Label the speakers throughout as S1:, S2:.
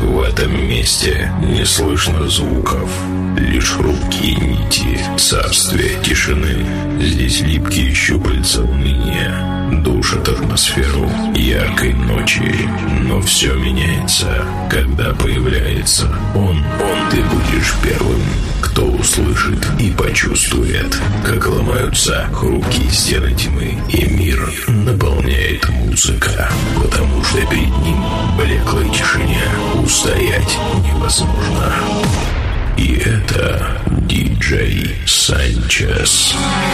S1: В этом месте не слышно звуков, лишь хрупкие нити царствия тишины. Здесь липкие щупальца уныния душат атмосферу яркой ночи. Но все меняется, когда появляется он. Ты будешь первым, кто услышит и почувствует, как ломаются хрупкие стены тьмы, и мир наполняет музыка, потому что перед ним в блеклой тишине устоять невозможно. И это диджей Санчес.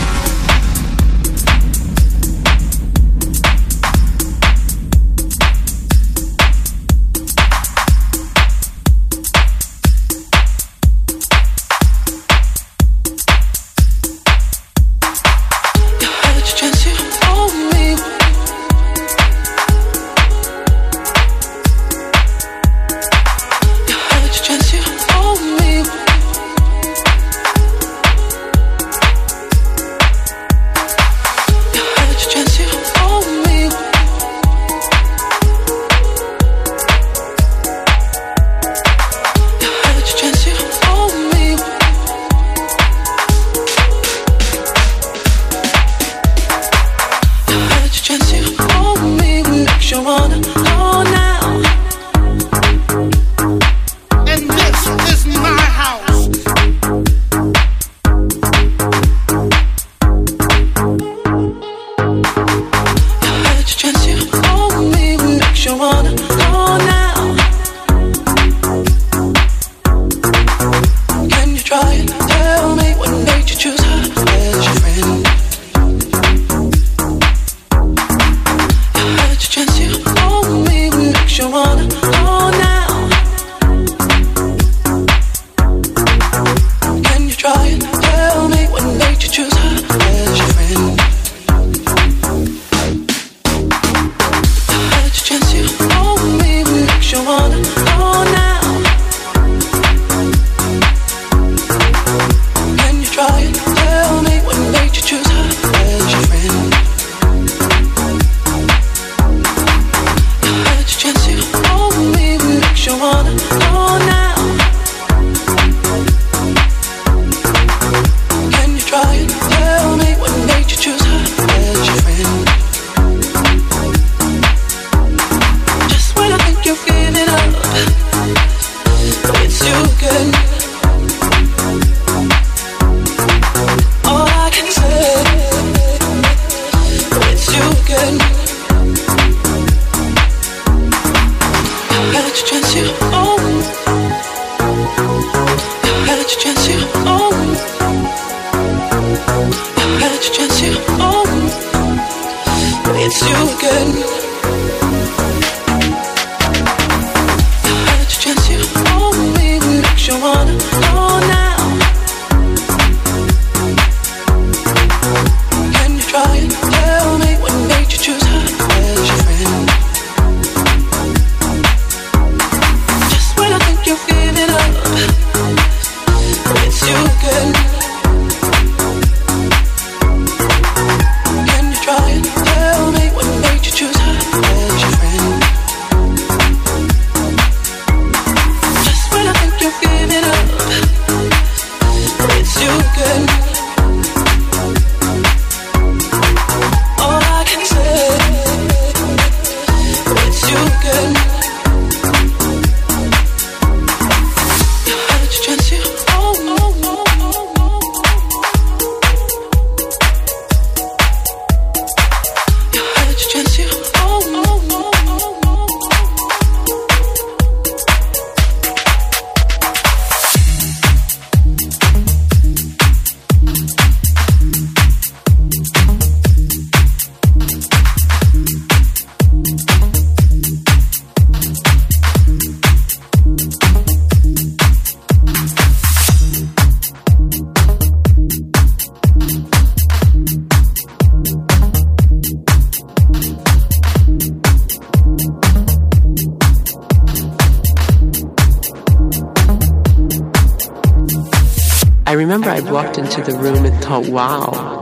S2: I remember I walked into the room and thought, wow.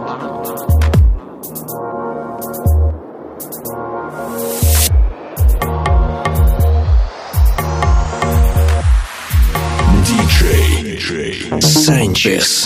S1: Chess.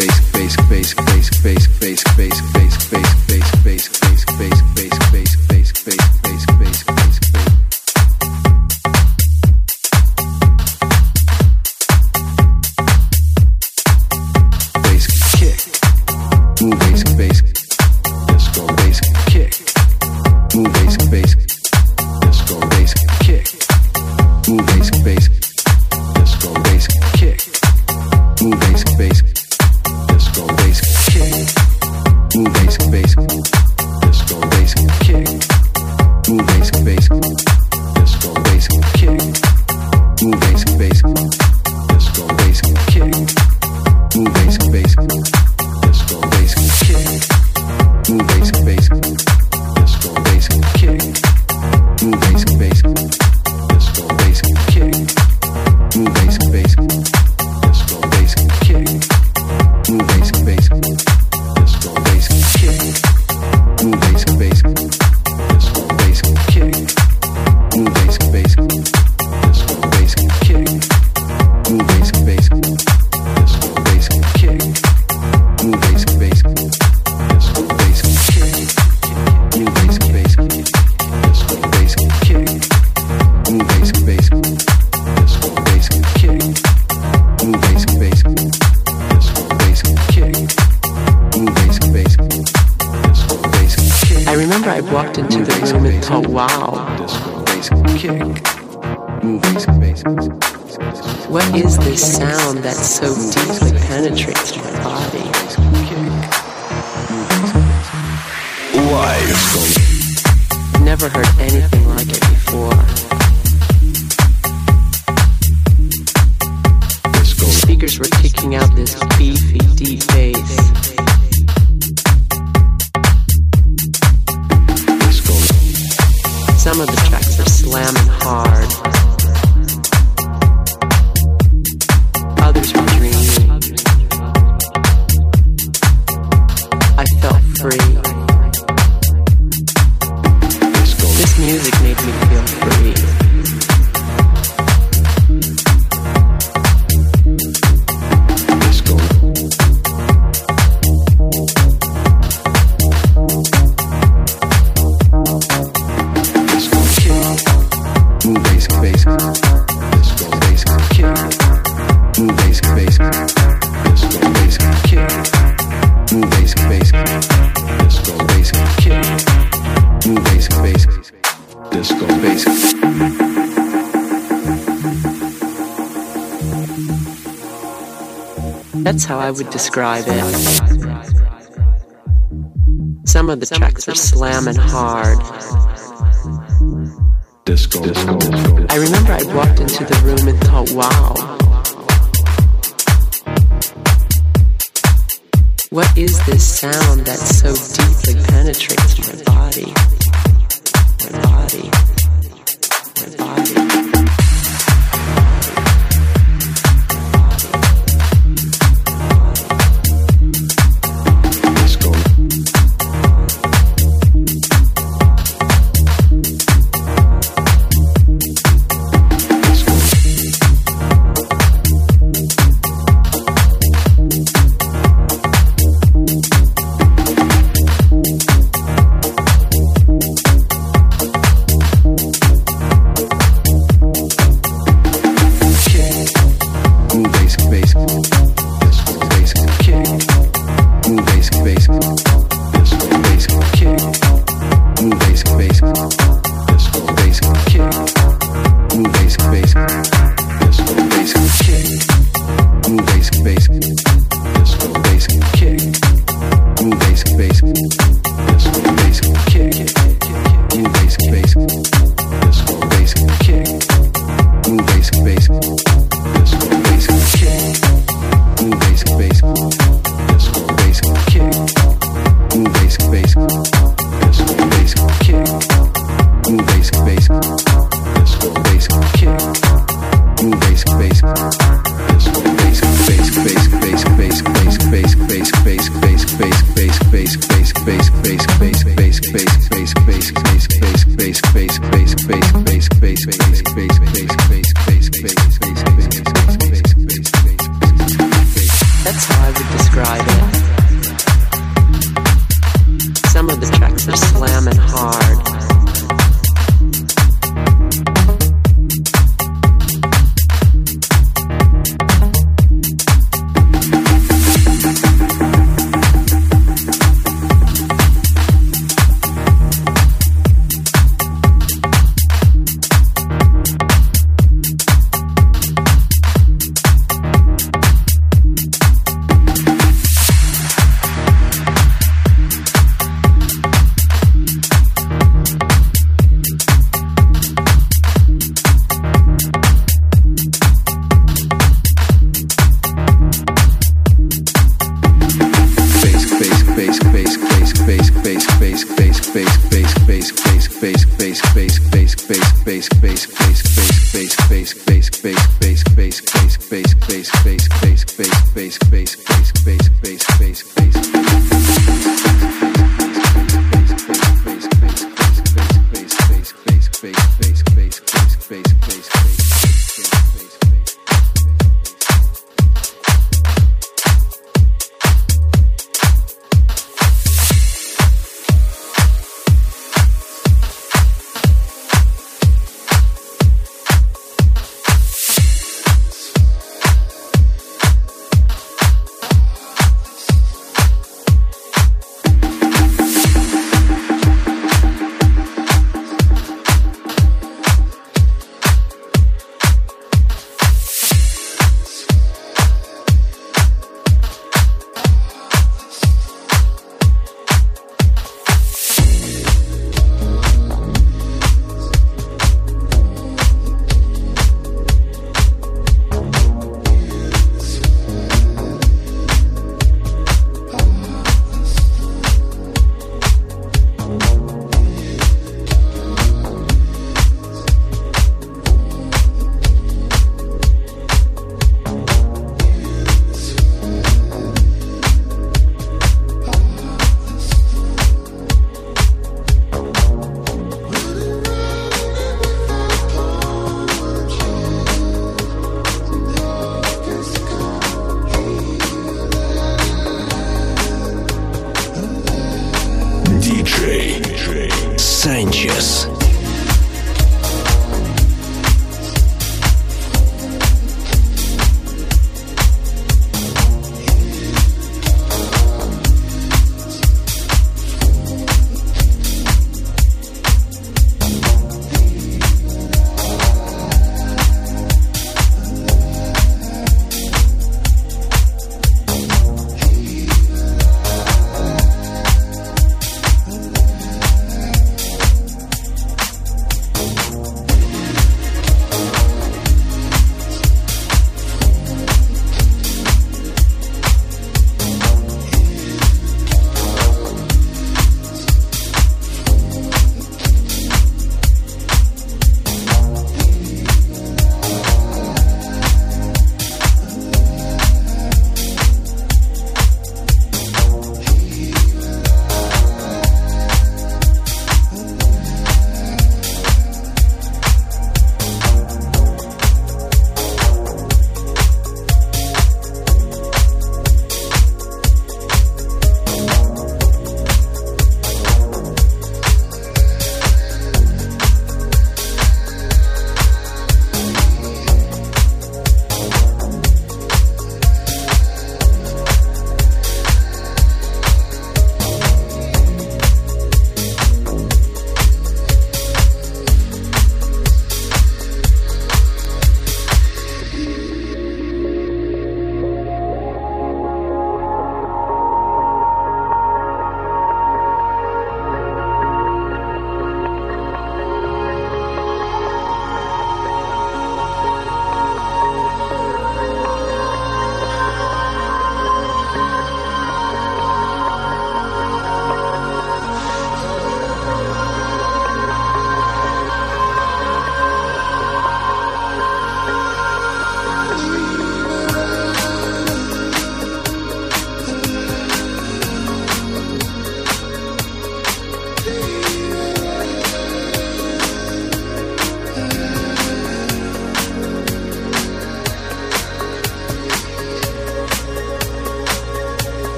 S2: What is this sound that so deeply penetrates my body? I've never heard anything like it before. The speakers were kicking out this beefy, deep bass. Some of the tracks are slamming hard. Others were dreamy. I felt free. This music made me feel free. That's how I would describe it. Some of the tracks were slamming hard.
S1: Disco.
S2: I remember I walked into the room and thought, wow. What is this sound that so deeply penetrates my body? My body. My body.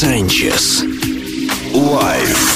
S3: Sanchez. Live.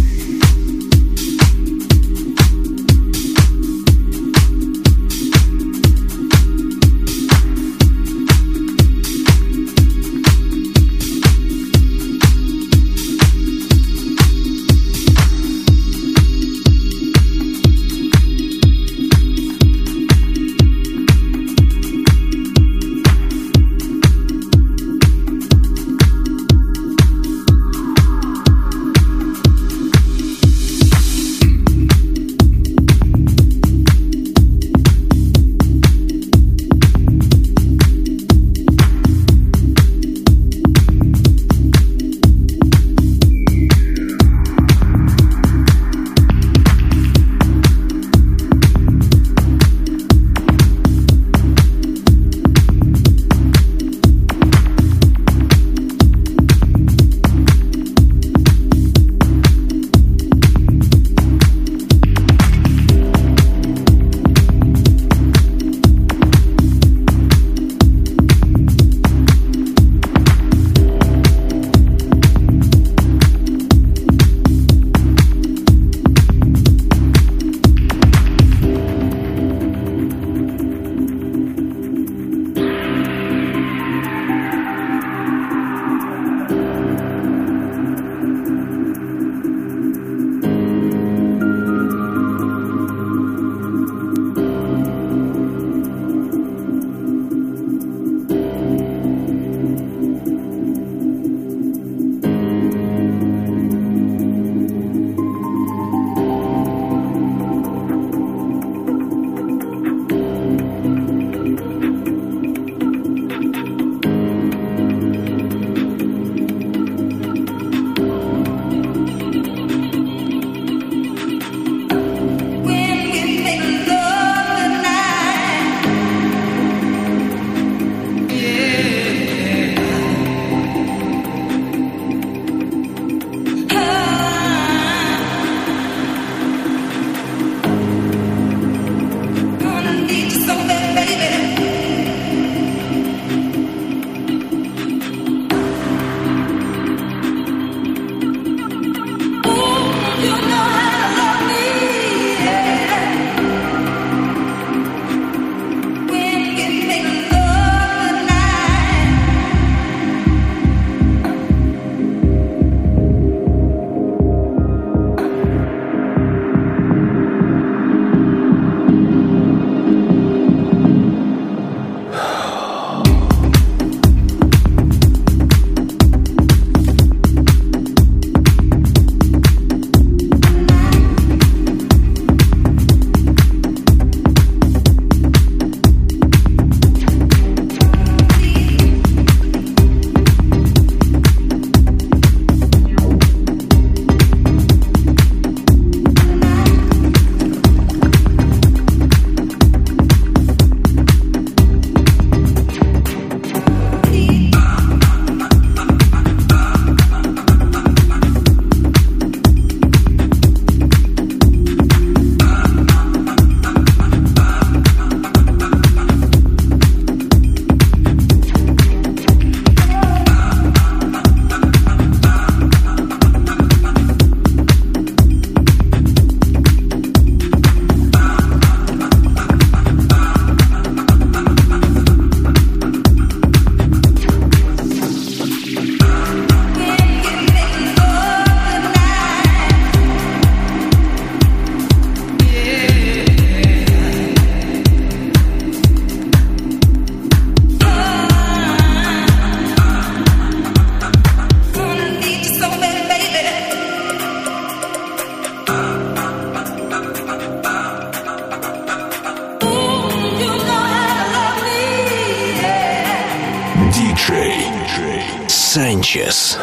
S3: Sanchez.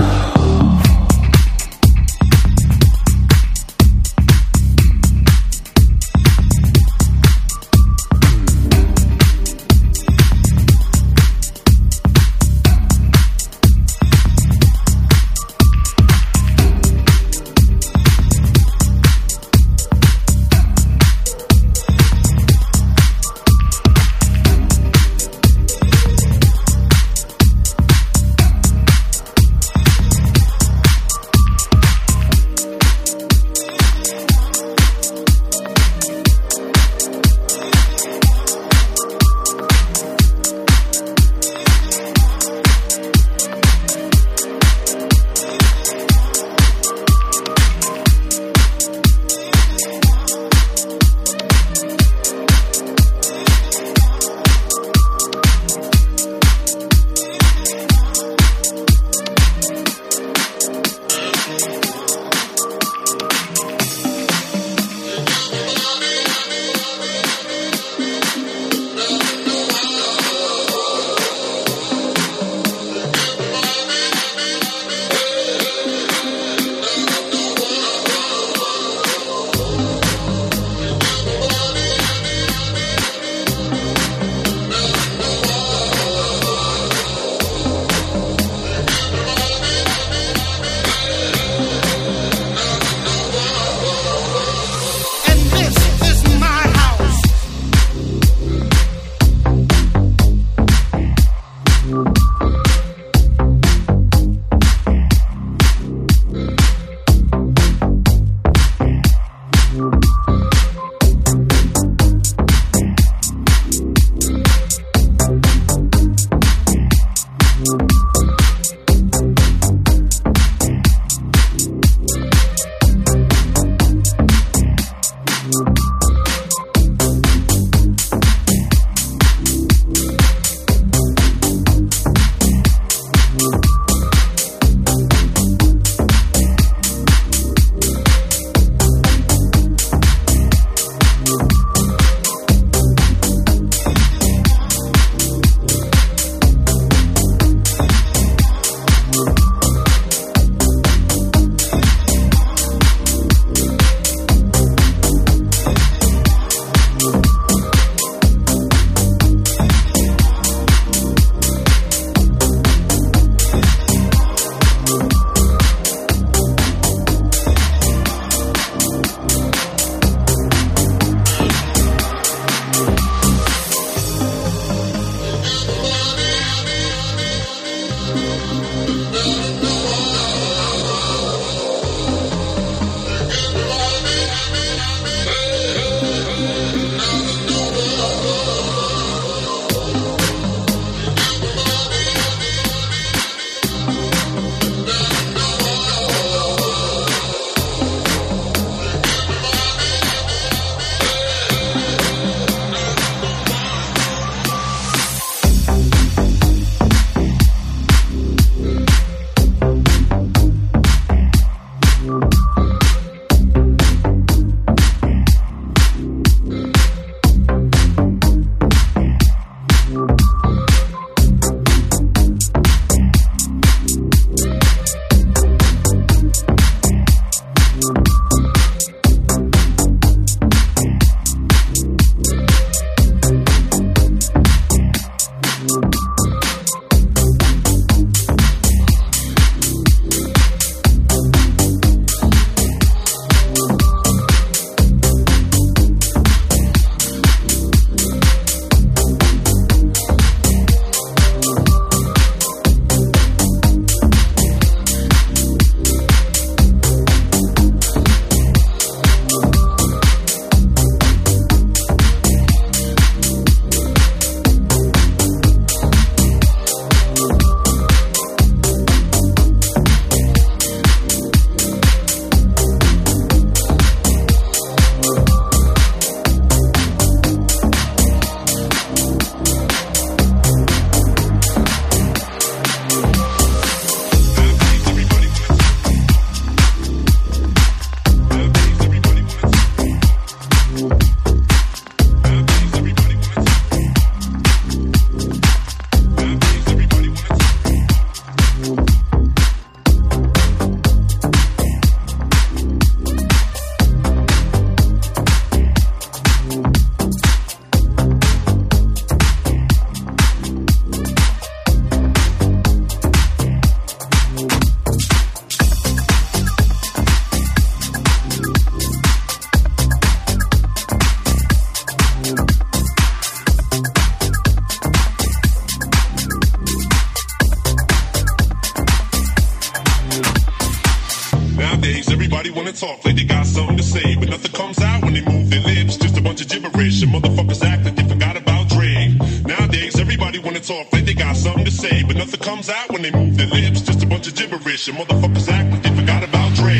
S4: talk like they got something to say, but nothing comes out when they move their lips. Just a bunch of gibberish, and motherfuckers act like they forgot about Dre. Nowadays, everybody wanna talk like they got something to say, but nothing comes out when they move their lips. Just a bunch of gibberish, and motherfuckers act like they forgot about Dre.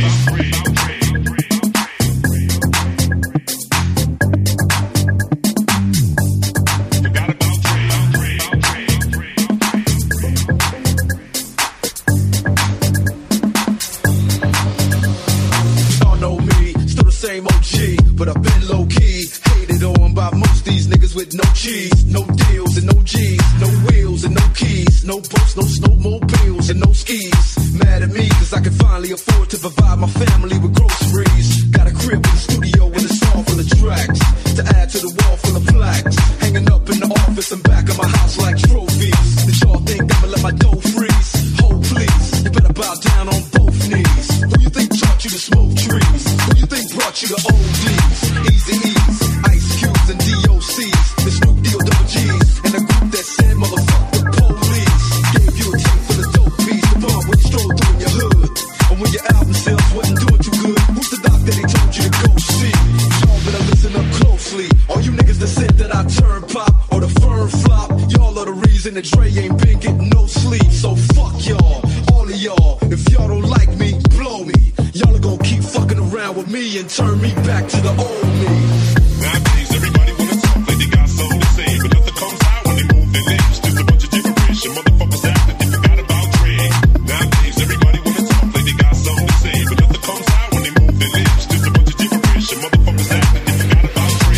S5: But I've been low-key, hated on by most these niggas with no cheese, no deals and no G's, no wheels and no keys, no boats, no snowmobiles and no skis. Mad at me cause I can finally afford to provide my family with groceries. Got a crib in the studio and a song full of tracks to add to the wall full of plaques, hanging up in the office and back of my house like trophies. Did y'all think I'ma let my dough freeze? Hold please, you better bow down on both knees. Who you think taught you to smoke trees? Who you think brought you to ODs? Easy E's, Ice Cubes and DOCs, the Snoop Deal Double G's, and a group that said motherfuck the police. Gave you a tape full of dope beats, the bomb when you stroll through in your hood. And when your album sales wasn't doing too good, who's the doc that they told you to go see? Y'all better listen up closely. All you niggas that said that I turn pop or the firm flop, y'all are the reason that Dre ain't been getting no sleep. So fuck y'all, all of y'all. If y'all don't like me, blow me. Y'all are gonna keep fucking around with me and turn me back to the old me.
S4: Nowadays, everybody wanna talk like they got something to say, but nothing comes out when they move their lips. Just a bunch of gibberish, and motherfuckers act like they forgot about Dre. Nowadays, everybody wanna talk like they got something to say, but nothing comes out when they move their lips. Just a bunch of gibberish, and motherfuckers act like they forgot about Dre.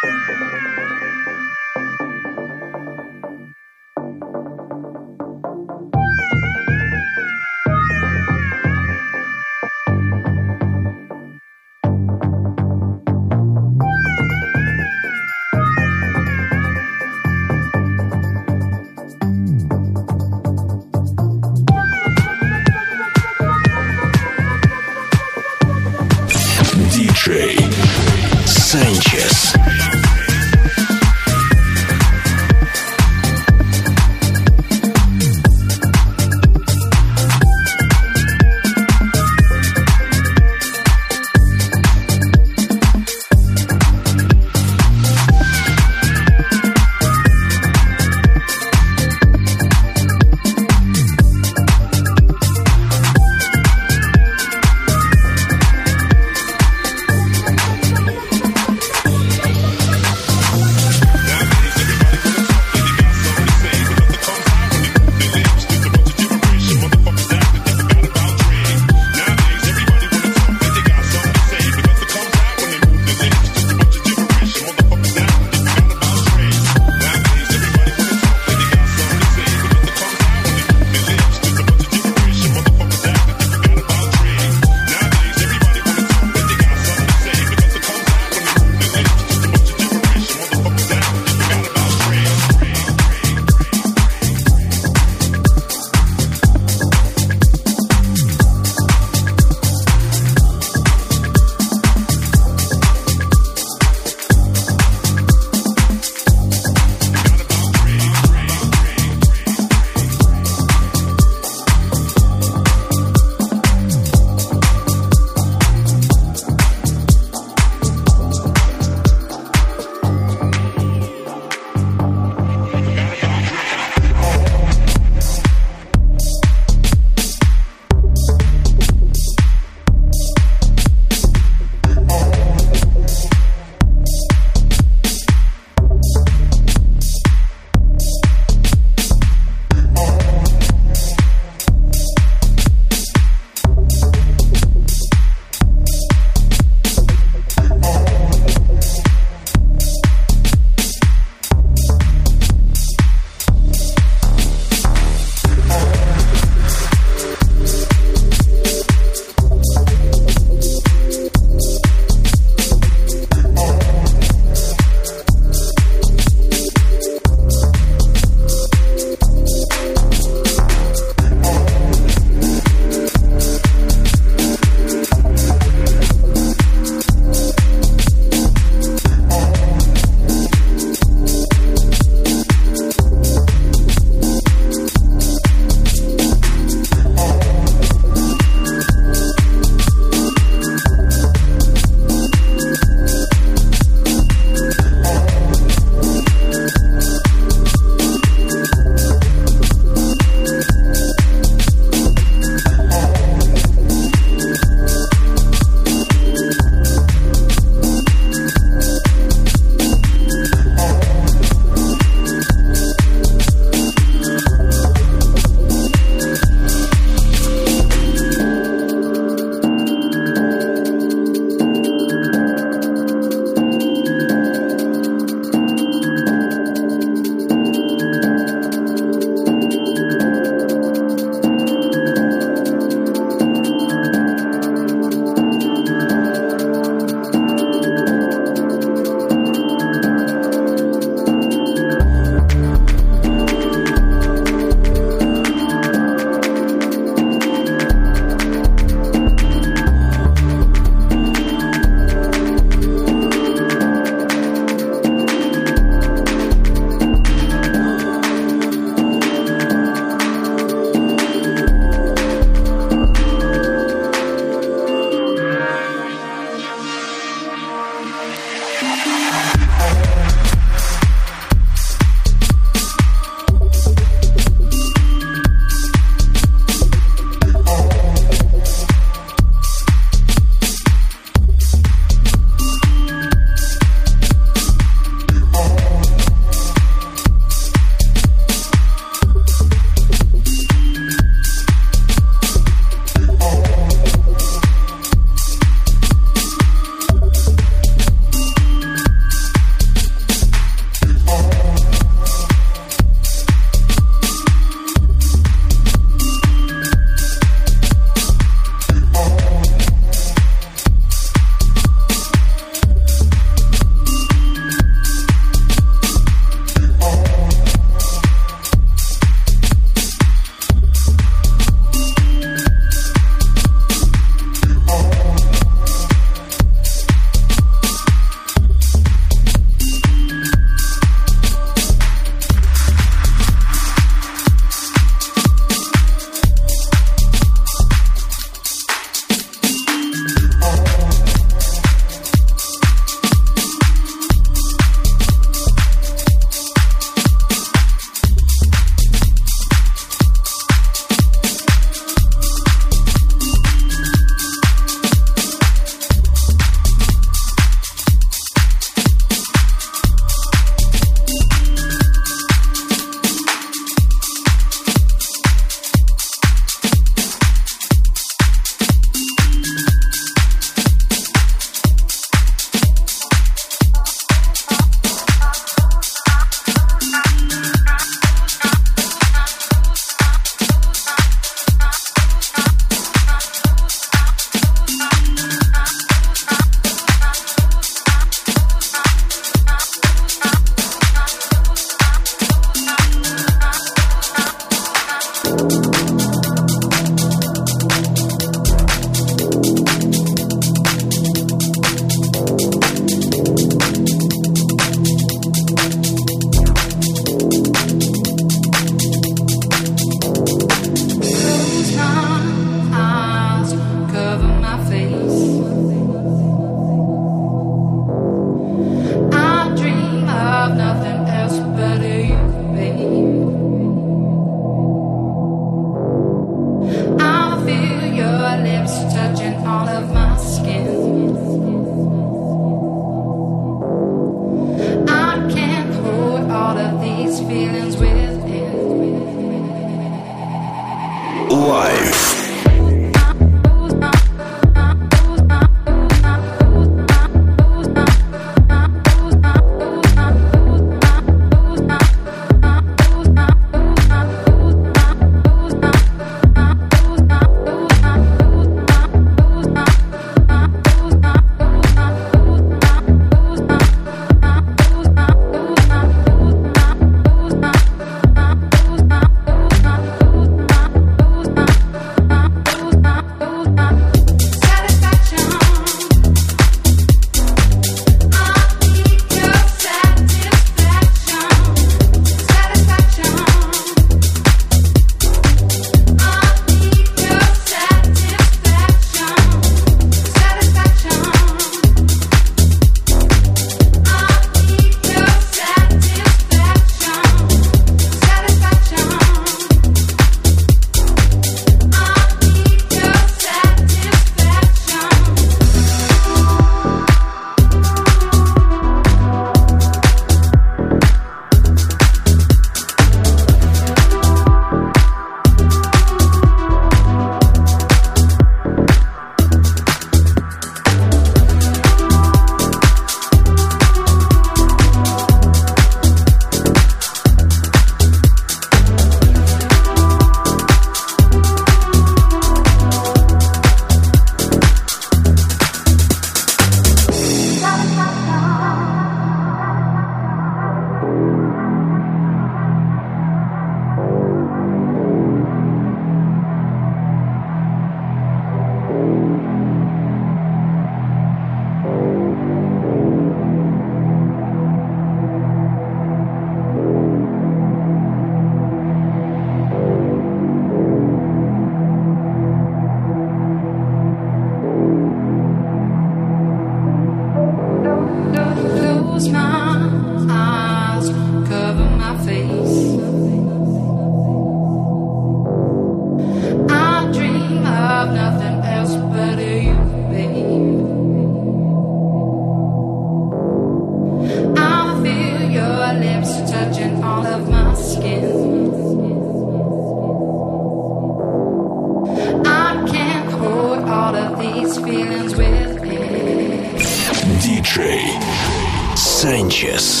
S3: Sanchez.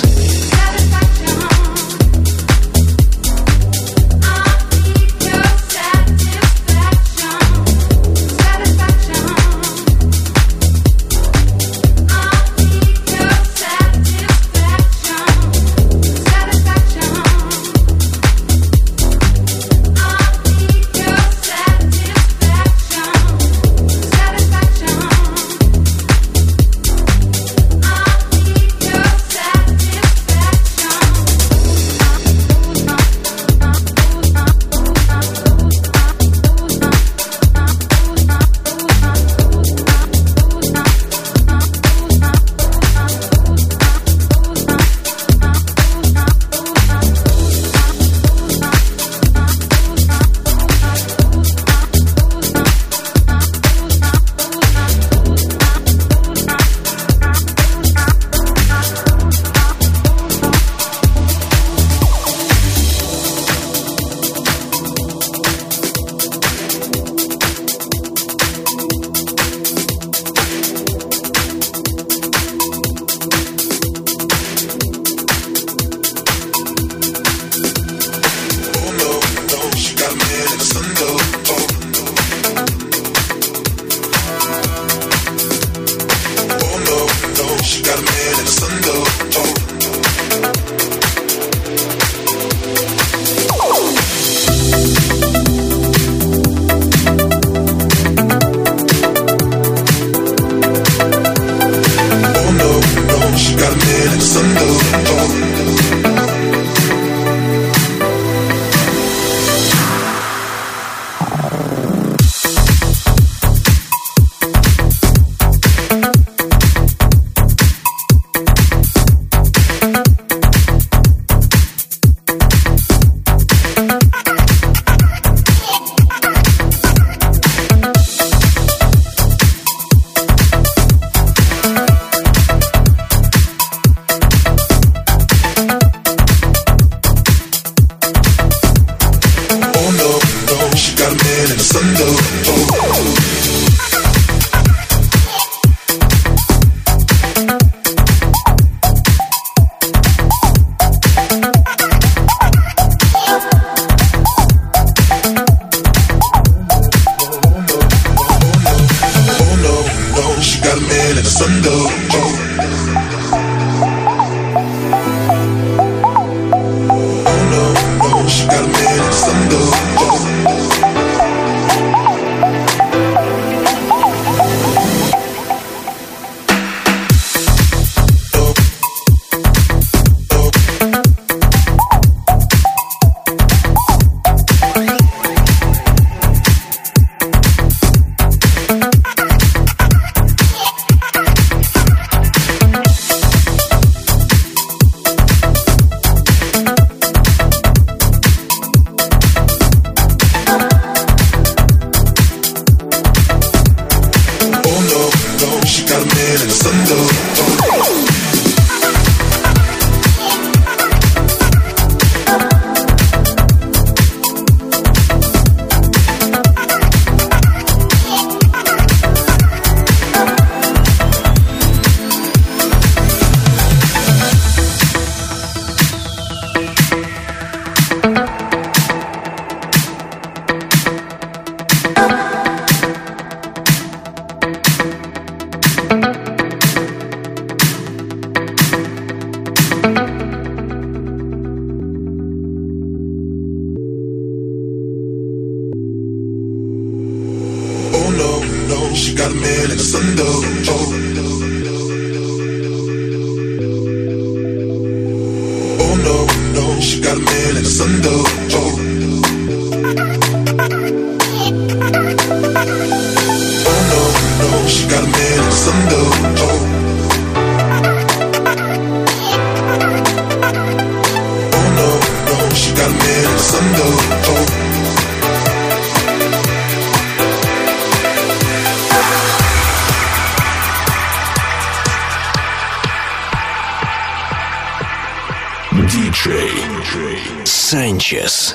S3: DJ Sanchez.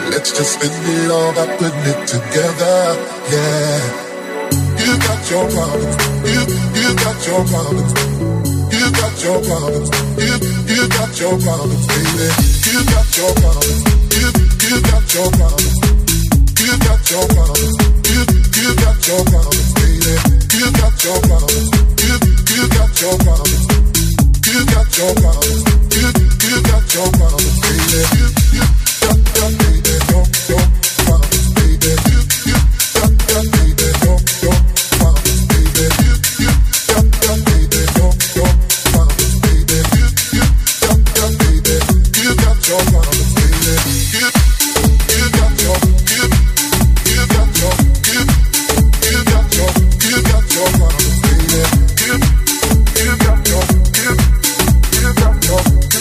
S6: Let's just spend it all by putting it together, yeah. You got your problems, you got your problems, you got your problems, you got your problems, baby. You got your problems, you got your problems, you got your problems, you got your problems, baby. You got your problems, you got your problems, you got your problems, you got your problems, baby. You got baby, your problems, baby. You got baby, your problems, baby. You got baby, your problems, baby. You got baby, you got your problems, baby. You got your you got your you got your problems, baby. You got your you got your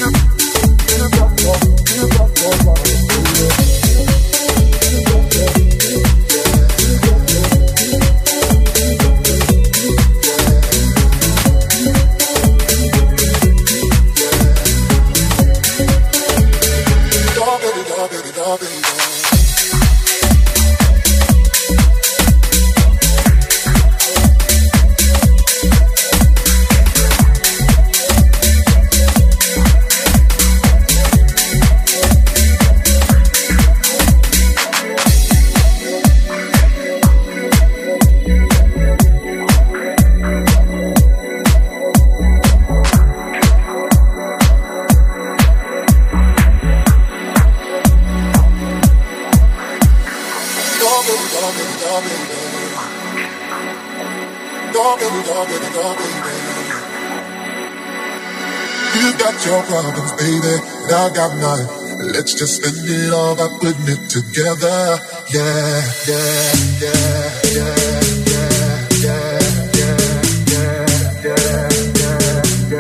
S6: problems, baby, and I got mine. Let's just spend it all by putting it together. Yeah, yeah, yeah, yeah, yeah, yeah, yeah, yeah,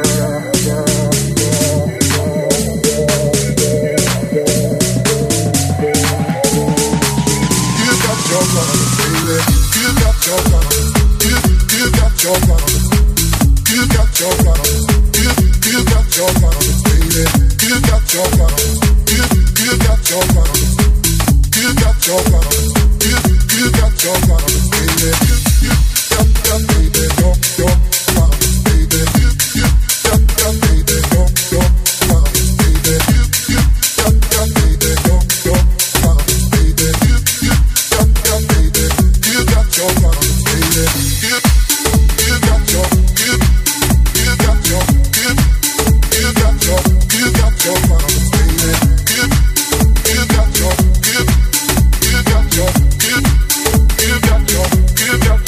S6: You got your problems, baby. You got your problems. You got your problems. You got your problems. You got your problems, baby. You got your problems. You got your problems. You got your problems. You got your problems, baby. You got baby, your problems, baby. You got baby, your problems, baby. You got baby, your problems, baby. You got baby, you got your problems, baby. You got your you got your you got your problems, baby. You got your you got your you got your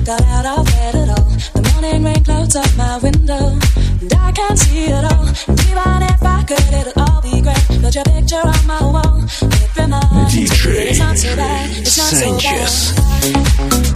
S7: got out of bed at all. The morning rain clouds up my window, and I can't see it all. And even if I could, it'll all be great. Put your picture on my wall. It reminds me that it's not so bad. It's not so bad.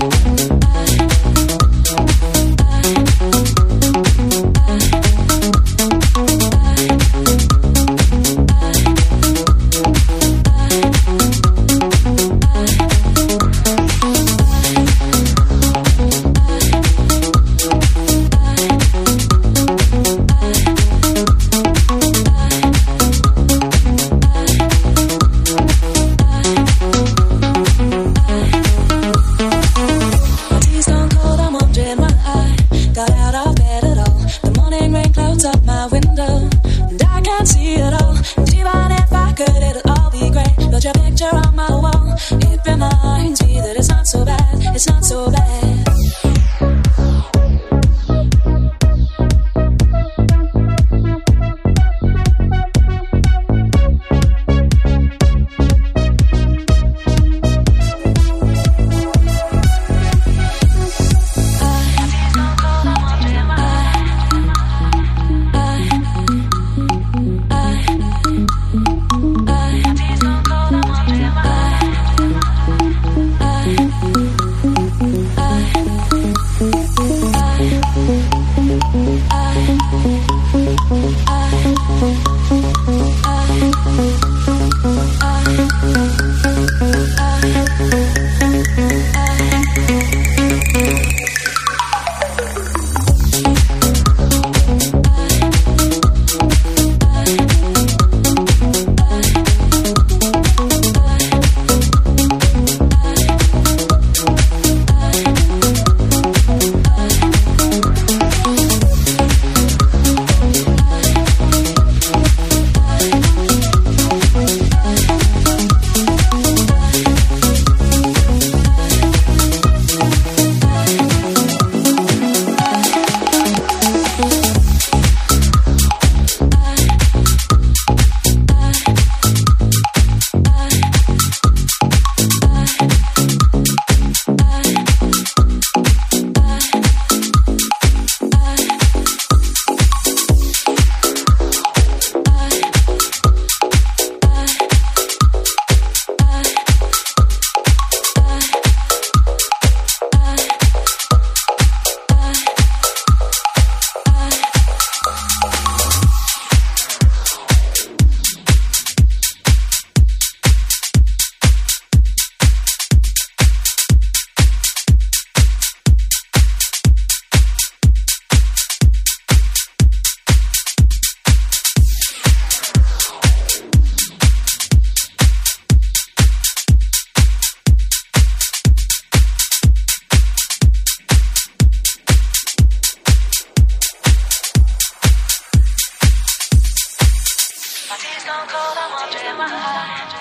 S7: It's not so bad. My tea's gone cold, I'm wondering why.